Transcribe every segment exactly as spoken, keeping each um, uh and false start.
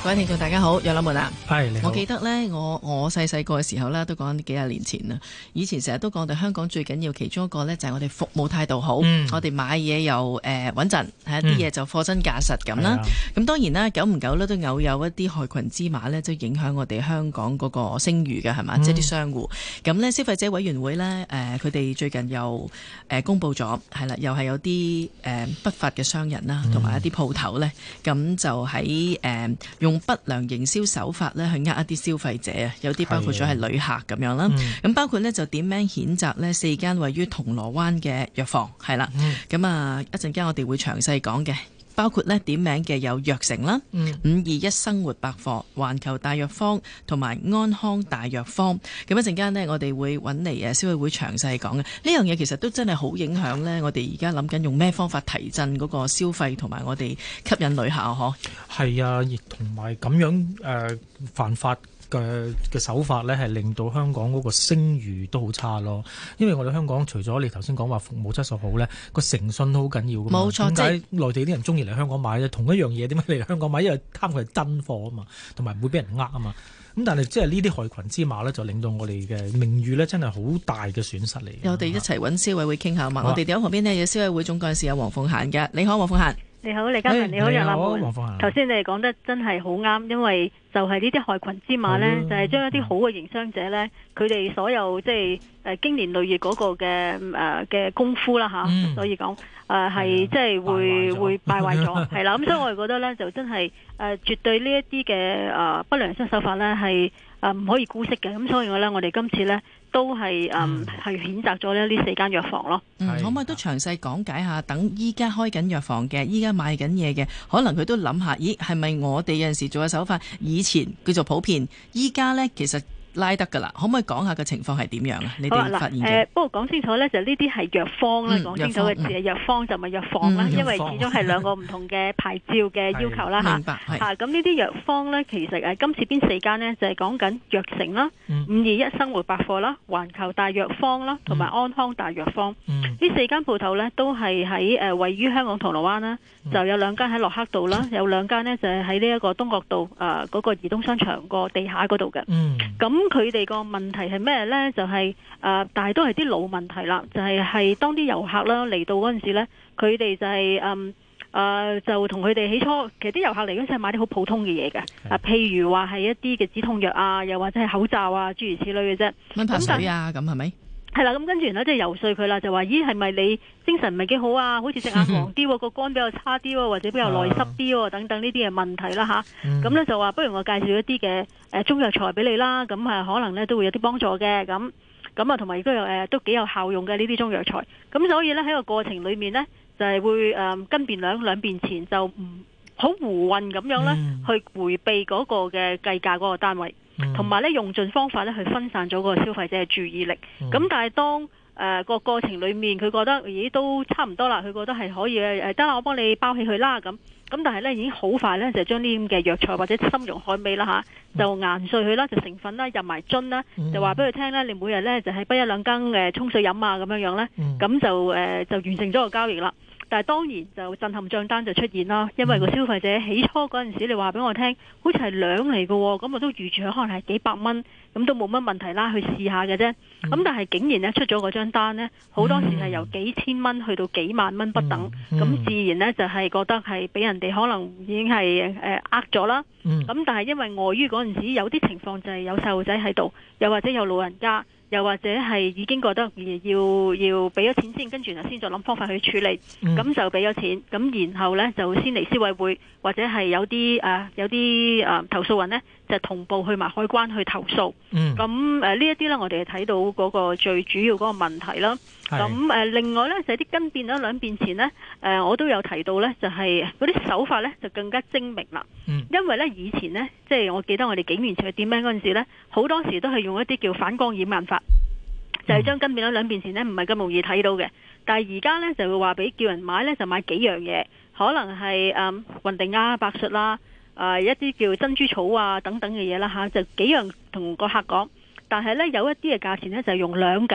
各位聽眾大家好，楊立門啊， 係你好。 我記得呢，我我細細個嘅時候呢，都講幾廿年前啦。以前成日都講，我哋香港最緊要其中一個呢，就係我哋服務態度好，嗯、我哋買嘢又誒穩陣，係一啲嘢就貨真價實咁啦。咁、嗯、當然啦，久唔久呢，都偶有一啲害群之馬呢，都影響我哋香港嗰個聲譽嘅係嘛，即係啲商戶。咁呢，消費者委員會呢，誒佢哋最近又誒、呃、公佈咗，係啦，又係有啲誒、呃、不法嘅商人啦，同埋一啲鋪頭呢，咁就喺誒、呃、用不良營銷手法咧去呃一啲消費者啊，有啲包括咗係旅客咁樣啦。咁、嗯、包括呢，就點名譴責呢四間位於銅鑼灣嘅藥房係啦。咁、嗯、啊一陣間我哋會詳細講嘅，包括呢點名嘅有藥城啦、五二一生活百貨、環球大藥房同埋安康大藥房。咁一陣間呢，我哋會揾嚟誒消委會詳細講嘅呢樣嘢，其實都真係好影響呢。我哋而家諗緊用咩方法提振嗰個消費同埋我哋吸引旅客嗬。 係啊，亦同埋咁樣誒、呃、犯法嘅嘅手法呢，係令到香港嗰個聲譽都好差咯。因為我哋香港除咗你頭先講話服務質素好呢，個誠信都好緊要㗎嘛。冇錯，點解內地啲人中意嚟香港買呢？同一樣嘢點解嚟香港買？因為貪佢係真貨啊嘛，同埋唔會俾人呃啊嘛。咁但係即係呢啲害群之馬呢，就令到我哋嘅名譽呢，真係好大嘅損失嚟。我哋一齊揾消委會傾下嘛。我哋喺旁邊呢，有消委會總幹事有黃鳳嫻嘅。你好，黃鳳嫻。 你好，李嘉文，你好，楊立門。頭先你哋講得真係好啱，因為就係呢啲害群之馬呢，就係、是、將一啲好嘅營商者呢，佢哋所有即係誒經年累月嗰個嘅誒嘅功夫啦吓、嗯，所以講誒係即係會會敗壞咗，係啦。咁所以我哋覺得呢，就真係誒、呃、絕對呢一啲嘅誒不良商手法呢，係誒唔可以姑息嘅。咁所以我呢，我哋今次呢，都係誒係譴責咗咧呢四間藥房咯。 嗯，可唔可以都詳細講解下？等依家開緊藥房嘅，依家賣緊嘢嘅，可能佢都諗下，咦係咪我哋有陣時做嘅手法以前叫做普遍，依家呢其實拉得㗎啦？可唔可以講下個情況係點樣啊？你哋發現嘅？ 誒，不過講清楚呢，就呢啲係藥方啦，講、嗯、清楚嘅字係藥方，就唔係藥房啦、嗯，因為始終係兩個唔同嘅牌照嘅要求啦嚇。明白。嚇，咁呢啲藥方呢，其實誒今次邊四間呢，就係講緊藥城啦、五二一生活百貨啦、環球大藥方啦，同埋安康大藥方。呢、嗯、四間鋪頭呢，都係喺誒位於香港銅鑼灣啦，就有兩間喺洛克道啦，有兩間呢，就係喺呢一個東角道誒嗰、呃那個移動商場個地下嗰度嘅。嗯。咁佢哋個問題係咩呢？就係、是、誒、呃，但係都係啲老問題啦。就係、是、係當啲遊客啦嚟到嗰陣時呢，佢哋就係誒誒，就同佢哋起初，其實啲遊客嚟嗰陣時係買啲好普通嘅嘢嘅。啊，譬如話係一啲嘅止痛藥啊，又或者係口罩啊，諸如此類嘅啫。 蚊怕水啊，咁係咪？ 係啦，咁跟住然後即係游說佢啦，就話咦係咪你精神唔係幾好啊？好似隻眼黃啲，個肝比較差啲，或者比較內濕啲等等呢啲嘅問題啦吓。咁、嗯、咧就話不如我介紹一啲嘅誒中藥材俾你啦，咁係可能咧都會有啲幫助嘅。咁咁啊，同埋亦都有誒都幾有效用嘅呢啲中藥材。咁所以咧喺個過程裏面咧就係、是、會誒跟便兩兩便前就唔好胡混咁樣咧、嗯、去迴避嗰個嘅計價嗰個單位。同埋咧用盡方法咧去分散咗個消費者嘅注意力，咁、嗯、但係當誒個、呃、過程裏面佢覺得咦都差唔多啦，佢覺得係可以誒得啦，我幫你包起佢啦咁，咁但係咧已經好快咧就將呢啲嘅藥材或者參茸海味啦吓，就研碎佢啦，就成分啦入埋樽啦，就話俾佢聽咧，你每日咧就係不一兩羹誒沖水飲啊咁樣樣咧，咁、嗯、就誒、呃、就完成咗個交易啦。但係當然就震撼賬單就出現啦，因為個消費者起初嗰陣時你話俾我聽，好似係兩嚟嘅，咁我都預住可能係幾百蚊，咁都冇乜問題啦，去試下嘅啫。咁、嗯、但係竟然呢出咗嗰張單呢，好多時係由幾千蚊去到幾萬蚊不等，咁、嗯嗯、自然呢就係覺得係俾人哋可能已經係誒呃咗啦。咁、嗯、但係因為礙於嗰陣時有啲情況就係有細路仔喺度，又或者有老人家。又或者係已經覺得要要俾咗錢先，跟住然後先再諗方法去處理，咁、嗯、就俾咗錢，咁然後呢，就先嚟消委會，或者係有啲誒、呃、有啲誒、呃、投訴人呢，就同步去埋海關去投訴。咁誒呢一啲呢，我哋係睇到嗰個最主要嗰個問題啦。咁誒、呃、另外呢，就係、是、啲跟變咗兩變前呢，誒、呃、我都有提到呢，就係嗰啲手法呢，就更加精明啦、嗯。因為呢，以前呢，即係我記得我哋幾年前去點名嗰陣時呢，好多時都係用一啲叫反光掩眼法。就係、是、將跟變咗兩邊前呢，唔係咁容易睇到嘅。但係而家呢，就會話俾叫人買呢，就買幾樣嘢，可能係誒雲定啊、白術啦、呃，一啲叫珍珠草啊等等嘅嘢啦嚇，就幾樣同個客講。但係呢，有一啲嘅價錢呢，就係用兩計，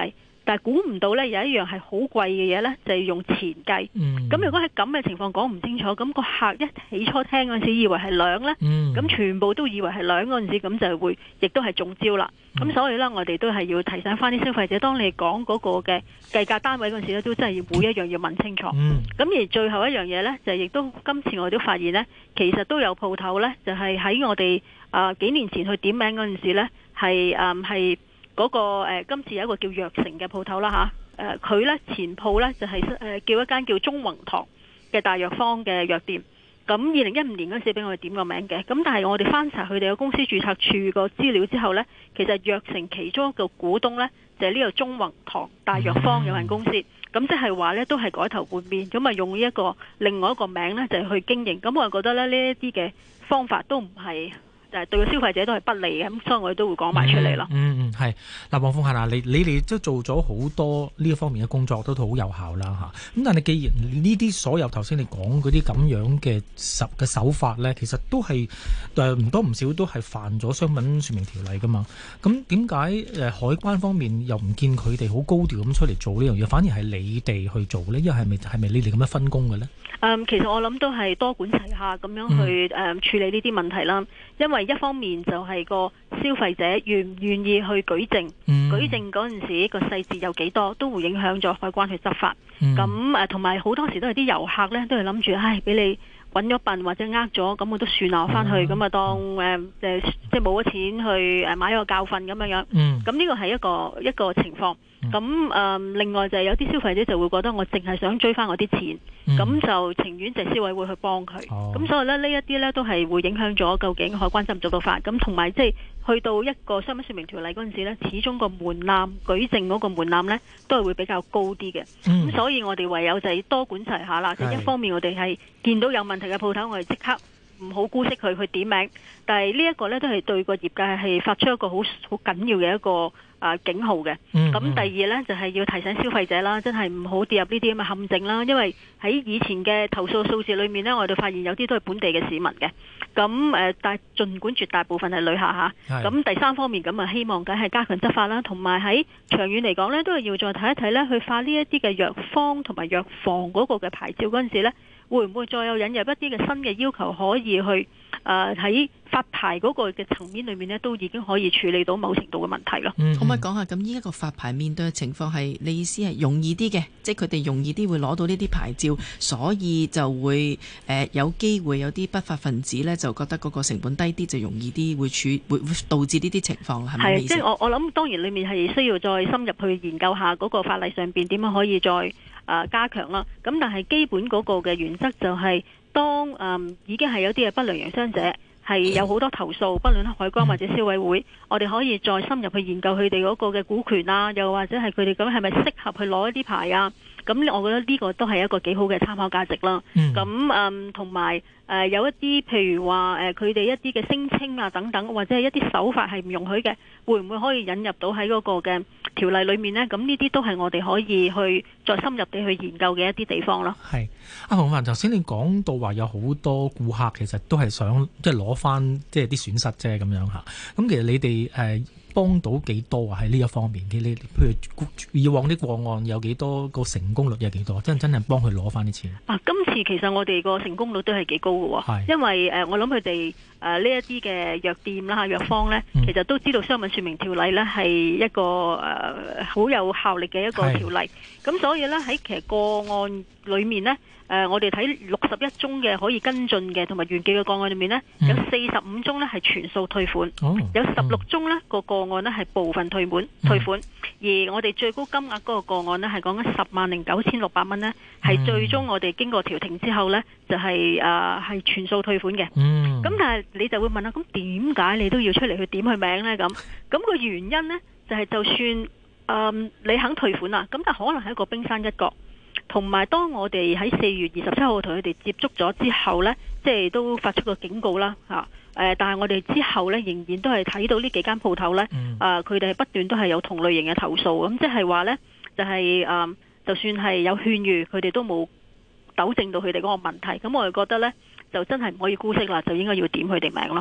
但係估唔到呢，有一樣係好貴嘅嘢呢，就係用錢計。咁、嗯、如果喺咁嘅情況講唔清楚，咁、個客一起初聽嗰陣時以為係兩呢，咁、嗯、全部都以為係兩嗰陣時，咁就會亦都係中招啦。咁、嗯、所以呢，我哋都係要提醒翻啲消費者，當你講嗰個嘅計價單位嗰陣時咧，都真係要每一樣要問清楚。咁、嗯、而最後一樣嘢呢，就亦都今次我哋都發現呢，其實都有鋪頭呢，就係、是、喺我哋啊、呃、幾年前去點名嗰陣時呢，係誒係嗰個、呃、今次有一個叫藥城嘅鋪頭啦嚇，誒佢呢前鋪呢，就係、是、誒、呃、叫一間叫中宏堂嘅大藥方嘅藥店。咁二零一五年嗰陣時俾我哋點個名嘅，咁但係我哋翻查佢哋嘅公司註冊處個資料之後呢，其實藥城其中一個股東呢，就係、是、呢個中宏堂大藥方有限公司，咁即係話呢，都係改頭換面，咁啊用呢一個另外一個名呢，就係、是、去經營，咁我就覺得咧呢一啲嘅方法都唔係。就係對個消費者都係不利嘅，咁所以我哋都會講埋出嚟咯。 嗯嗯，係、嗯。嗱，黃鳳嫻啊，你你哋都做咗好多呢一方面嘅工作，都好有效啦嚇。咁但係既然呢啲所有頭先你講嗰啲咁樣嘅手嘅手法咧，其實都係誒唔多唔少都係犯咗商品説明條例噶嘛。咁點解誒海關方面又唔見佢哋好高調咁出嚟做呢樣嘢，反而係你哋去做咧？因為係咪係咪你哋咁樣分工嘅咧？ 嗯，其實我諗都係多管齊下咁樣去誒、嗯嗯、處理呢啲問題啦。因為一方面就係個消費者願唔願意去舉證，嗯、舉證嗰陣時個細節有幾多，都會影響咗海關去執法。咁誒同埋好多時都係啲遊客呢，都係諗住，唉，俾你揾咗笨或者呃咗，咁我都算啦，我翻去咁啊、嗯、當誒、呃、即係冇咗錢去誒買一個教訓咁樣樣。咁、嗯、呢個係一個一個情況。咁誒、呃、另外就係有啲消費者就會覺得我淨係想追翻我啲錢，咁、嗯、就情願就消委會去幫佢。咁、哦、所以咧呢一啲呢都係會影響咗究竟海關執唔執到法。咁同埋即係去到一個商品説明條例嗰陣時呢，始終個門檻舉證嗰個門檻呢都係會比較高啲嘅。咁、嗯、所以我哋唯有就係多管齊下啦。就一方面我哋係見到有問題嘅鋪頭，我哋即刻唔好姑息佢去點名。但係呢一個呢都係對個業界係發出一個好好緊要嘅一個啊警號嘅。咁、嗯嗯、第二呢，就係、是、要提醒消費者啦，真係唔好跌入呢啲咁嘅陷阱啦。因為喺以前嘅投訴數字裏面呢，我哋發現有啲都係本地嘅市民嘅。咁誒，但係儘管絕大部分係旅客嚇。咁第三方面咁啊，希望梗係加強執法啦，同埋喺長遠嚟講呢，都係要再睇一睇呢，去發呢一啲嘅藥方同埋藥房嗰個嘅牌照嗰陣時呢，會唔會再有引入一啲嘅新嘅要求，可以去誒喺、呃、發牌嗰個嘅層面裏面呢，都已經可以處理到某程度嘅問題咯。 嗯嗯、可唔可以講下咁依一個發牌面對嘅情況係你意思係容易啲嘅，即係佢哋容易啲會攞到呢啲牌照，所以就會誒、呃、有機會有啲不法分子呢，就覺得嗰個成本低啲就容易啲會處會會導致呢啲情況係咪？係，即係我我諗當然裏面係需要再深入去研究下嗰個法例上邊點樣可以再誒、呃、加強啦。咁但係基本嗰個嘅原則就係、是、當誒、呃、已經係有啲嘅不良營商者。係有好多投訴，不論海關或者消委會，我哋可以再深入去研究佢哋嗰個嘅股權啊，又或者係佢哋咁係咪適合去攞一啲牌啊？咁我覺得呢個都係一個幾好嘅參考價值啦。咁誒同埋誒有一啲譬如話誒佢哋一啲嘅聲稱啊等等，或者係一啲手法係唔容許嘅，會唔會可以引入到喺嗰個嘅條例裏面呢？咁呢啲都係我哋可以去再深入地去研究嘅一啲地方咯。係阿黃嫻，頭先你講到話有好多顧客其實都係想即係攞翻即係啲損失啫咁樣嚇。咁其實你哋誒、呃、幫到幾多啊？喺呢一方面嘅，你譬如以往啲個案有幾多，個成功率有幾多？真真係幫佢攞翻啲錢啊！今次其實我哋個成功率都係幾高嘅喎，因為誒、呃、我諗佢哋誒呢一啲嘅藥店啦、藥方呢，嗯、其實都知道商品説明條例呢係一個誒好、呃、有效力嘅一個條例，咁所以呢，喺其實個案裏面呢。誒、呃，我哋睇六十一宗嘅可以跟進嘅同埋原記嘅個案裏面呢，嗯、有四十五宗呢係全數退款，哦、有十六宗呢個個案呢係部分退款、嗯、退款，而我哋最高金額嗰個個案呢係講緊十萬零九千六百蚊呢，係、嗯、最終我哋經過調停之後呢，就係誒係全數退款嘅。咁、嗯、但係你就會問啦，咁點解你都要出嚟去點佢名呢？咁咁個原因呢，就係、是、就算誒、呃、你肯退款啦，咁但可能係一個冰山一角。同埋，當我哋喺四月二十七號同佢哋接觸咗之後呢，即係都發出個警告啦嚇。誒、呃，但係我哋之後呢，仍然都係睇到呢幾間鋪頭呢，誒佢哋係不斷都係有同類型嘅投訴。咁即係話呢，就係、是、誒、呃，就算係有勸喻，佢哋都冇糾正到佢哋嗰個問題。咁我哋覺得呢，就真係唔可以姑息啦，就應該要點佢哋名咯。嗯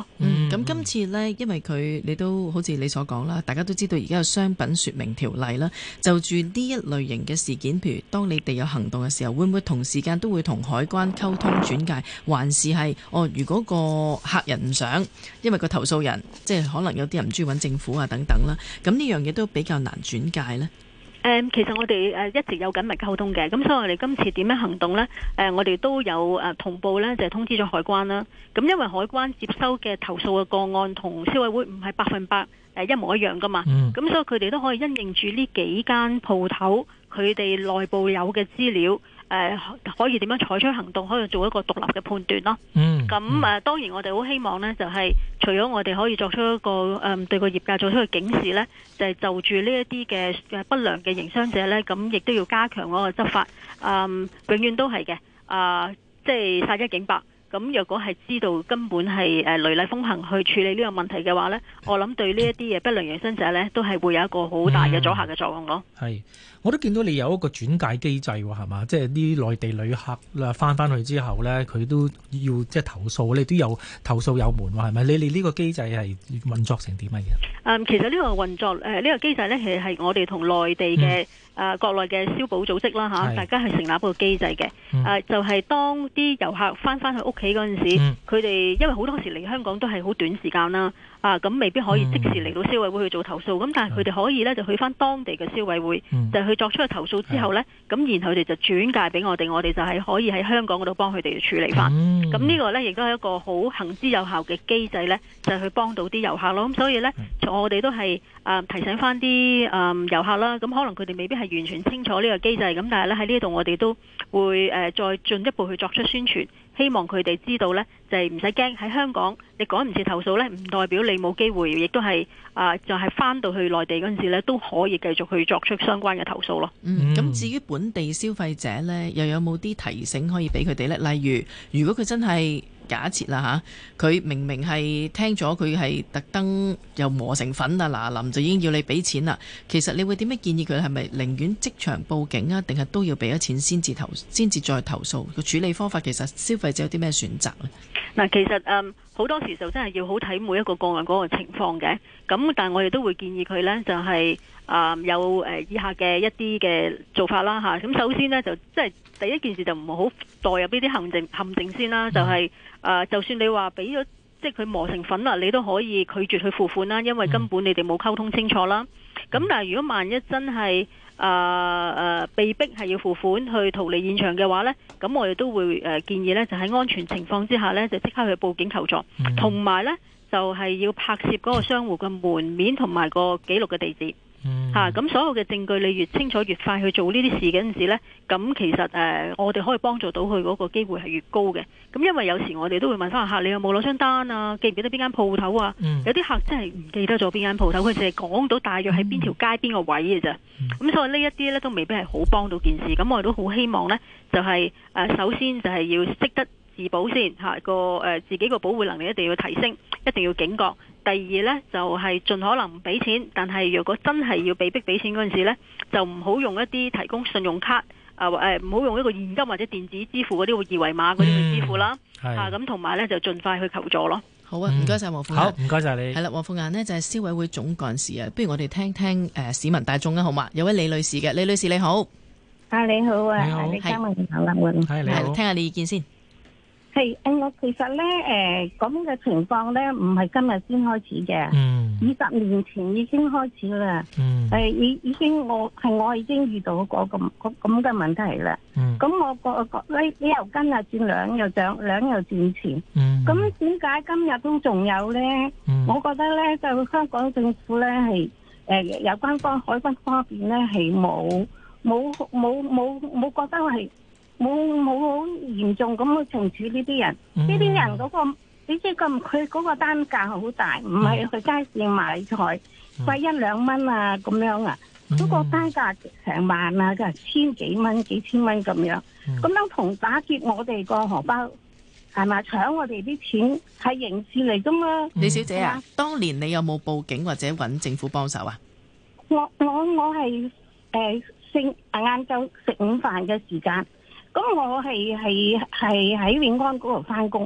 咁、嗯、今次呢，因為佢你都好似你所講啦，大家都知道而家有商品說明條例啦，就住呢一類型嘅事件，譬如當你哋有行動嘅時候，會唔會同時間都會同海關溝通轉介，還是係哦？如果個客人唔想，因為個投訴人即係可能有啲人唔中意揾政府啊等等啦，咁呢樣嘢都比較難轉介呢？ 誒，其實我哋誒一直有緊密溝通嘅，咁所以我哋今次點樣行動呢？誒，我哋都有誒同步呢，就係通知咗海關啦。咁因為海關接收嘅投訴嘅個案同消委會唔係百分百誒一模一樣噶嘛，咁、嗯、所以佢哋都可以因應住呢幾間鋪頭佢哋內部有嘅資料。誒、呃、可以點樣採取行動，可以做一個獨立嘅判斷咯。嗯，咁誒、呃、當然我哋好希望呢，就係、是、除咗我哋可以作出一個誒、呃、對個業界做出一個警示呢，就係、是、就住呢一啲嘅不良嘅營商者呢，咁亦都要加強嗰個執法。嗯、永遠都係嘅。啊、呃，即係殺一儆百。咁若果係知道根本係誒雷厲風行去處理呢個問題嘅話呢，我諗對呢一啲嘅不良營商者呢，都係會有一個好大嘅阻嚇嘅作用咯。 係、嗯，我都見到你有一個轉介機制喎，係嘛？即係啲內地旅客啦，翻翻去之後呢，佢都要即係投訴，你都有投訴有門喎，係咪？你哋呢個機制係運作成點啊？ 嗯，其實呢個運作誒呢、呃呢個機制呢，其實係我哋同內地嘅誒、嗯呃、國內嘅消保組織啦嚇，大家係成立一個機制嘅。誒、嗯呃、就係、是、當啲遊客翻翻去屋企嗰陣時，佢、嗯、哋因為好多時嚟香港都係好短時間啦，啊咁未必可以即時嚟到消委會去做投訴，咁、嗯、但係佢哋可以呢，就去翻當地嘅消委會，嗯、就去作出個投訴之後呢，咁、嗯、然後佢哋就轉介俾我哋，我哋就係可以喺香港嗰度幫佢哋處理翻。咁、嗯、呢個呢，亦都係一個好行之有效嘅機制呢，就係、去幫到啲遊客咯。咁所以呢，嗯、我哋都係誒、呃、提醒翻啲誒遊客啦。咁可能佢哋未必係完全清楚呢個機制，咁但係咧喺呢度我哋都會誒、呃、再進一步去作出宣傳。希望佢哋知道呢，就係唔使驚喺香港，你趕唔切投訴呢，唔代表你冇機會，亦都係啊、呃，就係、是、翻到去內地嗰陣時呢，都可以繼續去作出相關嘅投訴咯。 嗯，咁至於本地消費者呢，又有冇啲提醒可以俾佢哋呢？例如，如果佢真係假設啦嚇，佢明明係聽咗佢係特登又磨成粉啊嗱臨就已經要你俾錢啦，其實你會點樣建議佢？係咪寧願即場報警啊，定係都要俾咗錢先至投先至再投訴？個處理方法其實消費者有啲咩選擇呢？ 嗱，其實嗯好多時就真係要好睇每一個個案嗰個情況嘅，咁但係我哋都會建議佢呢，就係、是、啊、呃、有誒、呃、以下嘅一啲嘅做法啦嚇。咁首先呢，就即係第一件事就唔好代入呢啲陷阱陷阱先啦，就係、是、啊、呃、就算你話俾咗即係佢磨成粉啦，你都可以拒絕去付款啦，因為根本你哋冇溝通清楚啦。咁但係如果萬一真係啊誒被逼係要付款去逃離現場嘅話呢，咁我哋都會誒、呃、建議呢，就喺安全情況之下呢，就即刻去報警求助，同埋、嗯、呢，就係、是、要拍攝嗰個商戶嘅門面同埋個記錄嘅地址。吓，咁、嗯啊、所有嘅證據你越清楚越快去做呢啲事嗰陣時呢，咁其實誒、呃、我哋可以幫助到佢嗰個機會係越高嘅。咁因為有時我哋都會問翻客，你有冇攞張單啊？記唔記得邊間鋪頭啊？嗯、有啲客真係唔記得咗邊間鋪頭，佢淨係講到大約喺邊條街邊個位嘅咋。咁、嗯、所以呢一啲呢都未必係好幫到件事。咁我哋都好希望呢，就係、是、誒、呃、首先就係要識得自保先吓，個、呃、誒自己個保護能力一定要提升，一定要警覺。第二呢，就係、是、盡可能唔俾錢，但係如果真係要被逼俾錢嗰陣時呢，就唔好用一啲提供信用卡啊誒，唔好用一個現金或者電子支付嗰啲二維碼嗰啲去支付啦。嚇咁同埋呢，就盡快去求助咯。 好啊，唔該晒黃鳳嫺。 好，唔該晒你。 係啦，黃鳳嫺呢就係消委會總幹事啊。不如我哋聽聽誒、呃、市民大眾啊，好嘛？有位李女士嘅，李女士你好。 啊你好啊， 你好， 你嘉文好啦，我係你好， 聽下你意見先。 係誒，我其實咧誒咁嘅情況咧，唔係今日先開始嘅， 嗯， 二十年前已經開始啦， 嗯， 誒已已經我係我已經遇到嗰個咁咁嘅問題啦，嗯，咁我個個呢呢油斤啊轉兩又漲兩又轉錢，嗯，咁點解今日都仲有咧？嗯，我覺得咧就香港政府咧係誒有關方海關方面咧係冇冇冇冇冇覺得係。冇冇好嚴重咁去懲處呢啲人，呢啲、嗯、人嗰、嗰個你知咁佢嗰個單價好大，唔係去街市買菜貴、嗯、一兩蚊啊咁樣啊，嗰、嗯、個單價成萬啊，即係千幾蚊、幾千蚊咁樣，咁、嗯、樣同打劫我哋個荷包係咪搶我哋啲錢係刑事嚟噶嘛？ 李小姐啊， 嗯、 當年你有冇報警或者揾政府幫手啊？ 我我我係誒食晏晝食午飯嘅時間。咁我係係係喺永安嗰度翻工，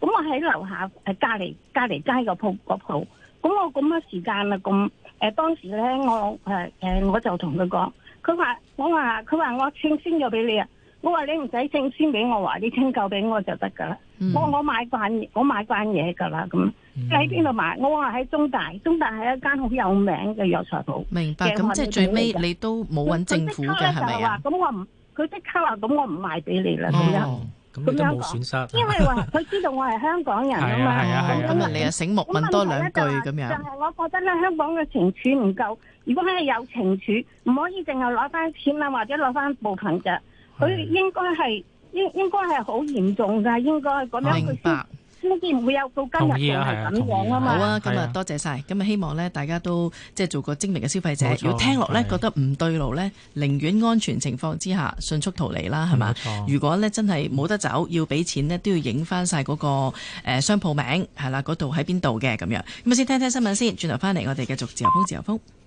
咁我喺樓下誒隔離隔離街個鋪個鋪，咁我咁嘅時間啊，咁誒當時咧我誒誒我就同佢講，佢話我話佢話我清先咗俾你啊，我話你唔使清先俾我，話你清夠俾我就得噶啦。我我買慣我買慣嘢噶啦，咁你喺邊度買？我話喺中大，中大係一間好有名嘅藥材鋪。 明白，咁即係最尾你都冇揾政府嘅係咪啊？ 咁我唔，佢即刻話咁我唔賣俾你啦咁樣。 咁你都冇損失。 因為話佢知道我係香港人啊嘛。 係啊係啊。 咁啊你啊醒目問多兩句咁樣。 就係我覺得咧，香港嘅懲處唔夠。如果係有懲處，唔可以淨係攞翻錢啊，或者攞翻部分嘅。佢應該係。應應該係好嚴重㗎，應該咁樣佢先先至唔會有到今日嘅係咁樣啊嘛。 好啊，今日多謝晒，咁啊希望咧大家都即係做個精明嘅消費者。如果聽落咧覺得唔對路咧，寧願安全情況之下迅速逃離啦，係嘛？如果咧真係冇得走，要俾錢呢，都要影翻晒嗰個誒商鋪名係啦，嗰度喺邊度嘅咁樣。咁啊先聽聽新聞先，轉頭翻嚟我哋繼續自由風自由風。